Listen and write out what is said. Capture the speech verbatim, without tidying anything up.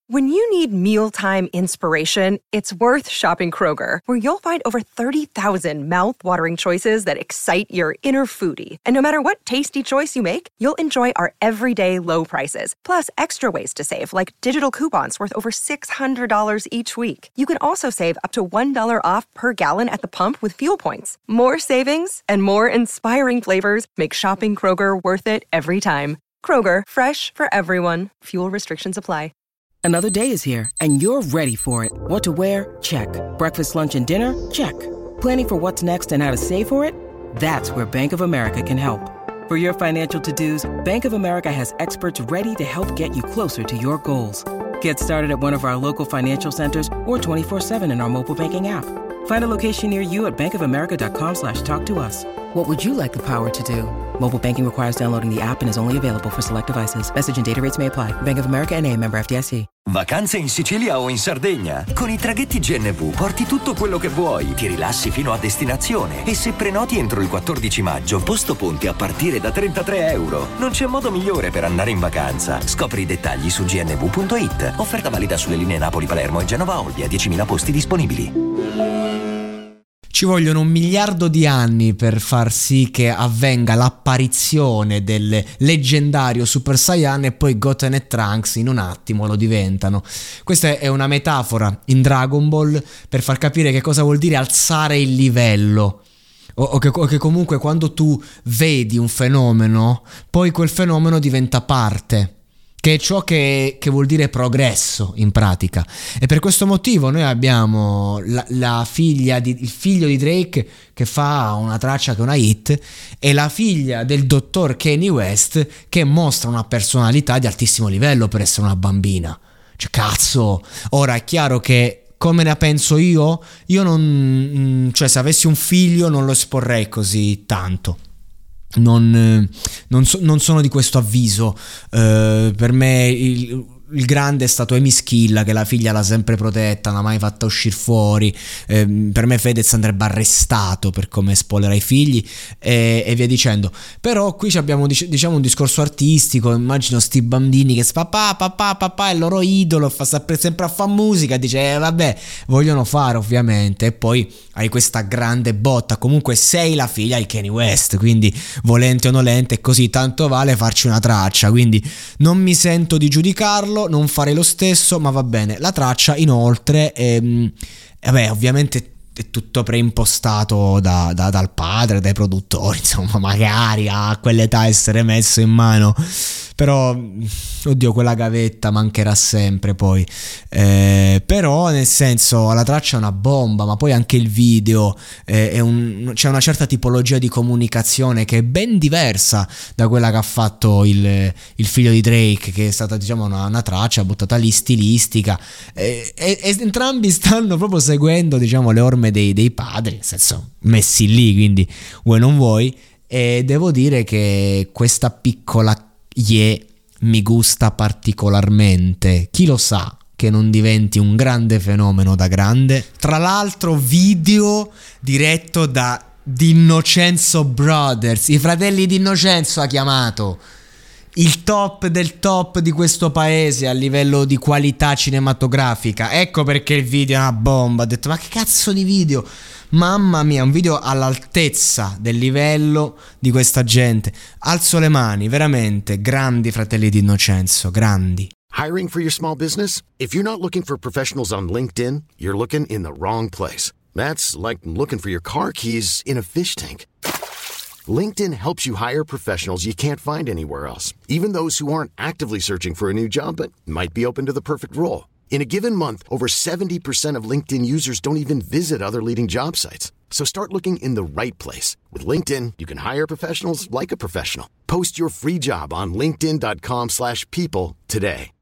When you need mealtime inspiration, it's worth shopping Kroger, where you'll find over thirty thousand mouth-watering choices that excite your inner foodie. And no matter what tasty choice you make, you'll enjoy our everyday low prices, plus extra ways to save, like digital coupons worth over six hundred dollars each week. You can also save up to one dollar off per gallon at the pump with fuel points. More savings and more inspiring flavors make shopping Kroger worth it every time. Kroger, fresh for everyone. Fuel restrictions apply. Another day is here, and you're ready for it. What to wear? Check. Breakfast, lunch, and dinner? Check. Planning for what's next and how to save for it? That's where Bank of America can help. For your financial to-dos, Bank of America has experts ready to help get you closer to your goals. Get started at one of our local financial centers or twenty-four seven in our mobile banking app. Find a location near you at bankofamerica.com slash talk to us. What would you like the power to do? Mobile banking requires downloading the app and is only available for select devices. Message and data rates may apply. Bank of America N A, member F D I C. Vacanze in Sicilia o in Sardegna? Con i traghetti G N V porti tutto quello che vuoi, ti rilassi fino a destinazione e se prenoti entro il quattordici maggio, posto ponti a partire da trentatré euro. Non c'è modo migliore per andare in vacanza. Scopri i dettagli su g n v punto i t. Offerta valida sulle linee Napoli-Palermo e Genova-Olbia, diecimila posti disponibili. Ci vogliono un miliardo di anni per far sì che avvenga l'apparizione del leggendario Super Saiyan e poi Goten e Trunks in un attimo lo diventano. Questa è una metafora in Dragon Ball per far capire che cosa vuol dire alzare il livello. O, o, che, o che comunque quando tu vedi un fenomeno, poi quel fenomeno diventa parte. Che è ciò che, che vuol dire progresso in pratica. E per questo motivo noi abbiamo la, la figlia di, il figlio di Drake che fa una traccia che è una hit e la figlia del dottor Kanye West che mostra una personalità di altissimo livello per essere una bambina. Cioè cazzo, ora è chiaro che come ne penso io, io non, cioè se avessi un figlio non lo esporrei così tanto. Non, non, so, non sono di questo avviso. Uh, per me il, il grande è stato Amy Schilla, che la figlia l'ha sempre protetta, non l'ha mai fatta uscire fuori. Eh, per me Fedez andrebbe arrestato per come spoilera i figli e, e via dicendo. Però qui abbiamo diciamo un discorso artistico. Immagino sti bambini che papà papà papà è il loro idolo, fa sempre, sempre a fare musica, dice eh, vabbè vogliono fare ovviamente, e poi hai questa grande botta. Comunque sei la figlia di Kanye West, quindi volente o nolente è così, tanto vale farci una traccia, quindi non mi sento di giudicarlo, non farei lo stesso, ma va bene. La traccia inoltre ehm, vabbè ovviamente è tutto preimpostato da, da, dal padre, dai produttori, insomma magari a quell'età essere messo in mano, però oddio quella gavetta mancherà sempre poi, eh, però nel senso la traccia è una bomba, ma poi anche il video eh, è un, c'è una certa tipologia di comunicazione che è ben diversa da quella che ha fatto il, il figlio di Drake, che è stata diciamo una, una traccia buttata lì stilistica, eh, e, e entrambi stanno proprio seguendo diciamo le orme dei, dei padri, nel senso messi lì, quindi vuoi non vuoi, e devo dire che questa piccola Ye mi gusta particolarmente. Chi lo sa che non diventi un grande fenomeno da grande. Tra l'altro video diretto da D'Innocenzo Brothers, i fratelli D'Innocenzo ha chiamato, il top del top di questo paese a livello di qualità cinematografica. Ecco perché il video è una bomba. Ho detto ma che cazzo di video, mamma mia, un video all'altezza del livello di questa gente. Alzo le mani, veramente grandi fratelli D'Innocenzo, grandi. Hiring for your small business? If you're not looking for professionals on LinkedIn, you're looking in the wrong place. That's like looking for your car keys in a fish tank. LinkedIn helps you hire professionals you can't find anywhere else, even those who aren't actively searching for a new job but might be open to the perfect role. In a given month, over seventy percent of LinkedIn users don't even visit other leading job sites. So start looking in the right place. With LinkedIn, you can hire professionals like a professional. Post your free job on linkedin dot com slash people today.